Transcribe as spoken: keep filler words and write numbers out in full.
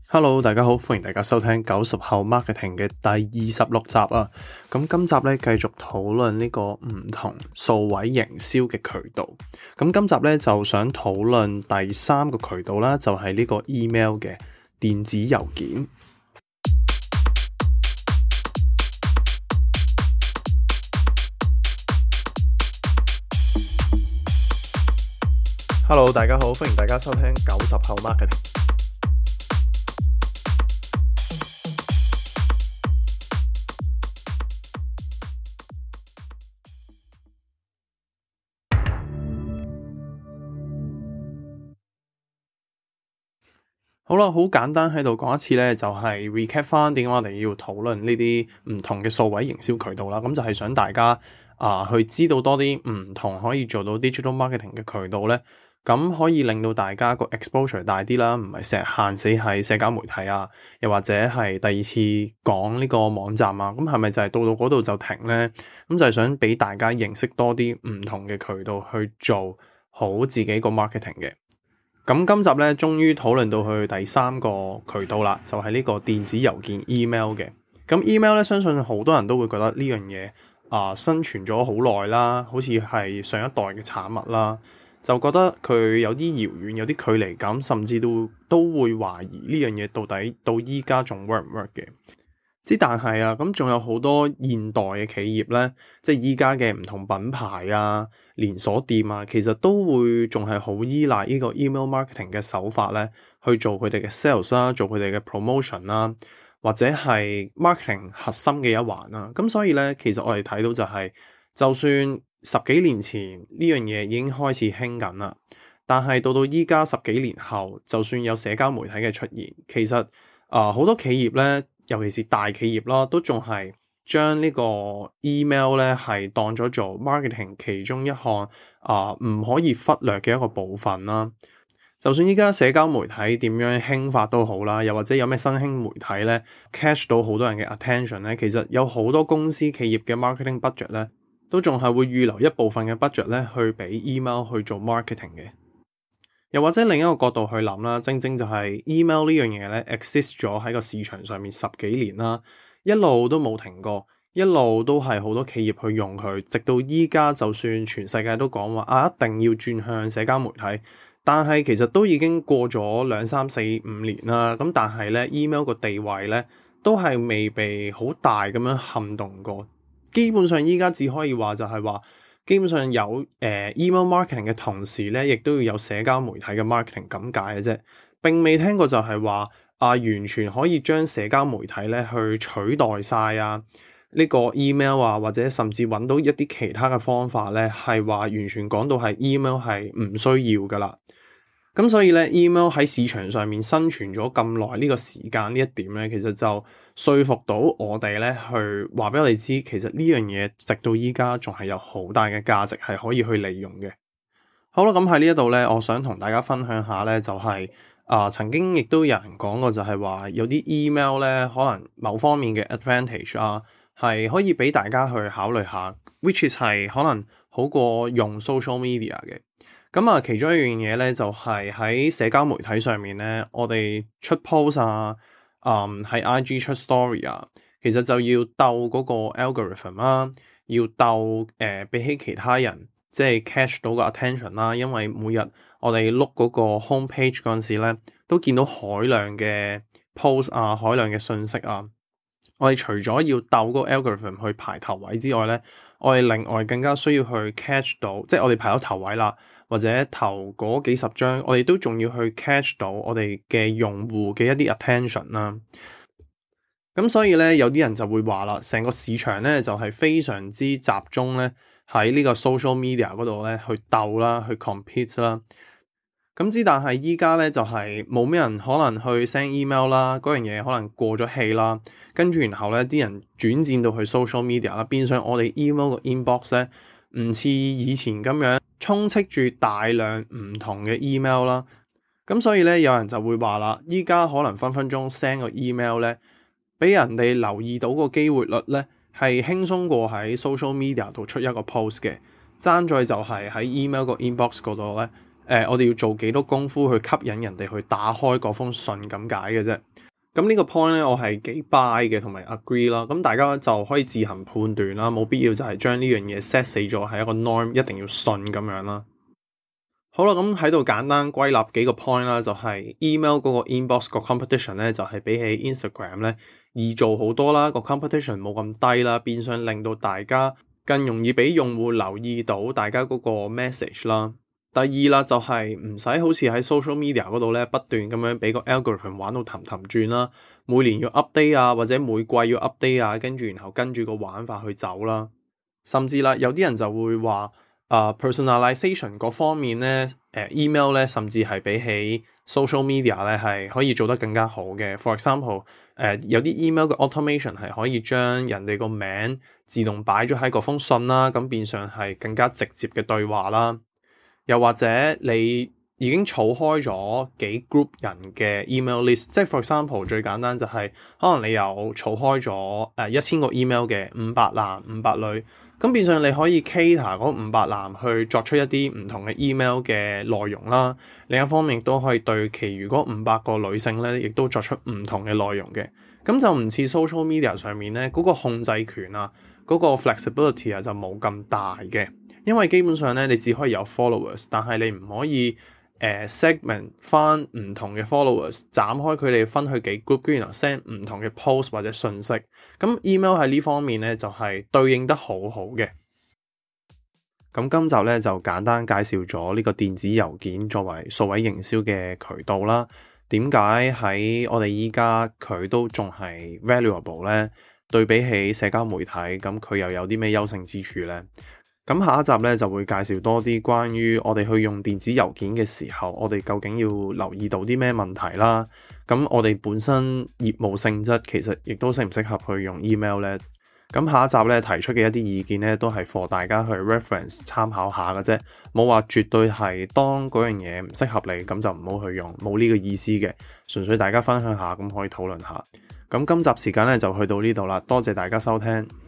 Hello，大家好，歡迎大家收聽九十後 Marketing 嘅第二十六集啊。咁今集咧繼續討論呢個唔同數位營銷嘅渠道。咁今集咧就想討論第三個渠道啦，就係呢個 email 嘅電子郵件。Hello，大家好，歡迎大家收聽九十後 Marketing。好啦，好簡單喺度講一次咧，就係 recap 翻點解我哋要討論呢啲唔同嘅數位營銷渠道啦。咁就係想大家啊、呃、去知道多啲唔同可以做到 digital marketing 嘅渠道咧，咁可以令到大家個 exposure 大啲啦，唔係成日限死喺社交媒體啊，又或者係第二次講呢個網站啊。咁係咪就係到到嗰度就停咧？咁就係想俾大家認識多啲唔同嘅渠道去做好自己個 marketing 嘅。咁今集咧，終於討論到去第三個渠道啦，就係、是、呢個電子郵件 email 嘅。咁 email 咧，相信好多人都會覺得呢樣嘢啊，生存咗好耐啦，好似係上一代嘅產物啦，就覺得佢有啲遙遠，有啲距離感，甚至都都會懷疑呢樣嘢到底到依家仲 work 唔 work 嘅。之但係啊，咁仲有好多現代嘅企業咧，即係依家嘅唔同品牌啊、連鎖店啊，其實都會仲係好依賴呢個 email marketing 嘅手法咧，去做佢哋嘅 sales 啦，做佢哋嘅 promotion 啦，或者係 marketing 核心嘅一環啦。咁所以咧，其實我哋睇到就係、是，就算十幾年前呢樣嘢已經開始興緊啦，但係到到依家十幾年後，就算有社交媒體嘅出現，其實啊好、呃、多企業咧。尤其是大企業啦，都仲係將呢個 email 咧係當咗做 marketing 其中一項啊唔可以忽略嘅一個部分啦。就算依家社交媒體點樣興發都好啦，又或者有咩新興媒體咧 catch 到好多人嘅 attention 咧，其實有好多公司企業嘅 marketing budget 咧，都仲係會預留一部分嘅 budget 咧去俾 email 去做 marketing 嘅。又或者另一個角度去諗啦，正正就係 email 呢樣嘢咧 exist 咗喺個市場上面十幾年啦，一路都冇停過，一路都係好多企業去用佢，直到依家就算全世界都講話啊一定要轉向社交媒體，但係其實都已經過咗兩三四五年啦，咁但係咧 email 個地位咧都係未被好大咁樣撼動過，基本上依家只可以話就係話。基本上有誒、呃、email marketing 嘅同時咧，亦都要有社交媒體嘅 marketing 咁解嘅啫。並未聽過就係話啊，完全可以將社交媒體咧去取代晒啊呢、這個 email 啊，或者甚至揾到一啲其他嘅方法咧，係話完全講到係 email 係唔需要噶啦。咁所以咧 email 喺市場上面生存咗咁耐呢個時間呢一點咧，其實就說服到我哋咧去話俾我哋知，其實呢樣嘢直到依家仲係有好大嘅價值係可以去利用嘅。好啦，咁喺呢一度咧，我想同大家分享下咧，就係、是、啊、呃、曾經亦都有人講過，就係話有啲 email 咧，可能某方面嘅 advantage 啊，係可以俾大家去考慮下 ，which is 係可能好過用 social media 嘅。咁啊，其中一樣嘢咧，就係喺社交媒體上面咧，我哋出 post 啊，嗯，喺 I G 出 story 啊，其實就要鬥嗰個 algorithm 啦，要鬥誒、呃、比起其他人，即係 catch 到個 attention 啦。因為每日我哋碌嗰個 home page 嗰陣時咧，都見到海量嘅 post 啊，海量嘅信息啊。我哋除咗要鬥嗰個 algorithm 去排頭位之外咧，我哋另外更加需要去 catch 到，即係我哋排到頭位啦，或者頭嗰幾十張，我哋都仲要去 catch 到我哋嘅用戶嘅一啲 attention 啦。咁所以咧，有啲人就會話啦，成個市場咧就係非常之集中咧喺呢個 social media 嗰度咧去鬥啦，去 compete 啦。咁之但係依家咧就係冇咩人可能去 send email 啦，嗰樣嘢可能過咗氣啦，跟住然後咧啲人轉戰到去 social media 啦，變相我哋 email 個 inbox 咧唔似以前咁樣充斥住大量唔同嘅 email 啦。咁所以咧有人就會話啦，依家可能分分鐘 send 個 email 咧，俾人哋留意到個機會率咧係輕鬆過喺 social media 度出一個 post 嘅，爭在就係喺 email 個 inbox 嗰度咧。誒、 呃、我哋要做幾多功夫去吸引人哋去打開嗰封信咁解嘅啫。咁呢個 point 咧，我係幾 buy 嘅，同埋 agree 啦。咁大家就可以自行判斷啦，冇必要就係將呢樣嘢 set 死咗係一個 norm，一定要信咁樣啦。好啦，咁喺度簡單歸納幾個 point 啦，就係 email 嗰個 inbox 個 competition 咧，就係比起 Instagram 咧易做好多啦，個 competition 冇咁低啦，變相令到大家更容易俾用戶留意到大家嗰個 message 啦。第二啦，就係唔使好似喺 social media 嗰度咧不斷咁樣俾個 algorithm 玩到氹氹轉啦，每年要 update 啊，或者每季要 update 啊，跟住然後跟住個玩法去走啦。甚至啦，有啲人就會話啊、uh, personalization 嗰方面咧，誒、呃、email 咧，甚至係比起 social media 咧係可以做得更加好嘅。For example，誒、呃、有啲 email 嘅 automation 係可以將人哋個名自動擺咗喺嗰封信啦，咁變相係更加直接嘅對話啦。又或者你已經儲開咗幾 group 人嘅 email list，即係 for example 最簡單就係、是、可能你有儲開咗誒一千個 email 嘅五百男五百女，咁變相你可以 cater 嗰五百男去作出一啲唔同嘅 email 嘅內容啦。另一方面亦都可以對其餘嗰五百個女性咧，亦都作出唔同嘅內容嘅。咁就唔似 social media 上面咧嗰、那個控制權啊，嗰、那個 flexibility 啊就冇咁大嘅。因為基本上咧，你只可以有 followers，但係你唔可以誒、呃、segment 翻唔同嘅 followers，斬開佢哋分去幾 group，然後 send 唔同嘅 post 或者信息。咁 email 喺呢方面咧就係、是、對應得好好嘅。咁今集咧就簡單介紹咗呢個電子郵件作為數位營銷嘅渠道啦。點解喺我哋依家佢都仲係 valuable 咧？對比起社交媒體，咁佢又有啲咩優勝之處咧？咁下一集咧就會介紹多啲關於我哋去用電子郵件嘅時候，我哋究竟要留意到啲咩問題啦？咁我哋本身業務性質其實亦都適唔適合去用 email 咧？咁下一集咧提出嘅一啲意見咧都係 for 大家去 reference 參考下嘅啫，冇話絕對係當嗰樣嘢唔適合你咁就唔好去用，冇呢個意思嘅，純粹大家分享下咁可以討論下。咁今集時間咧就去到呢度啦，多謝大家收聽。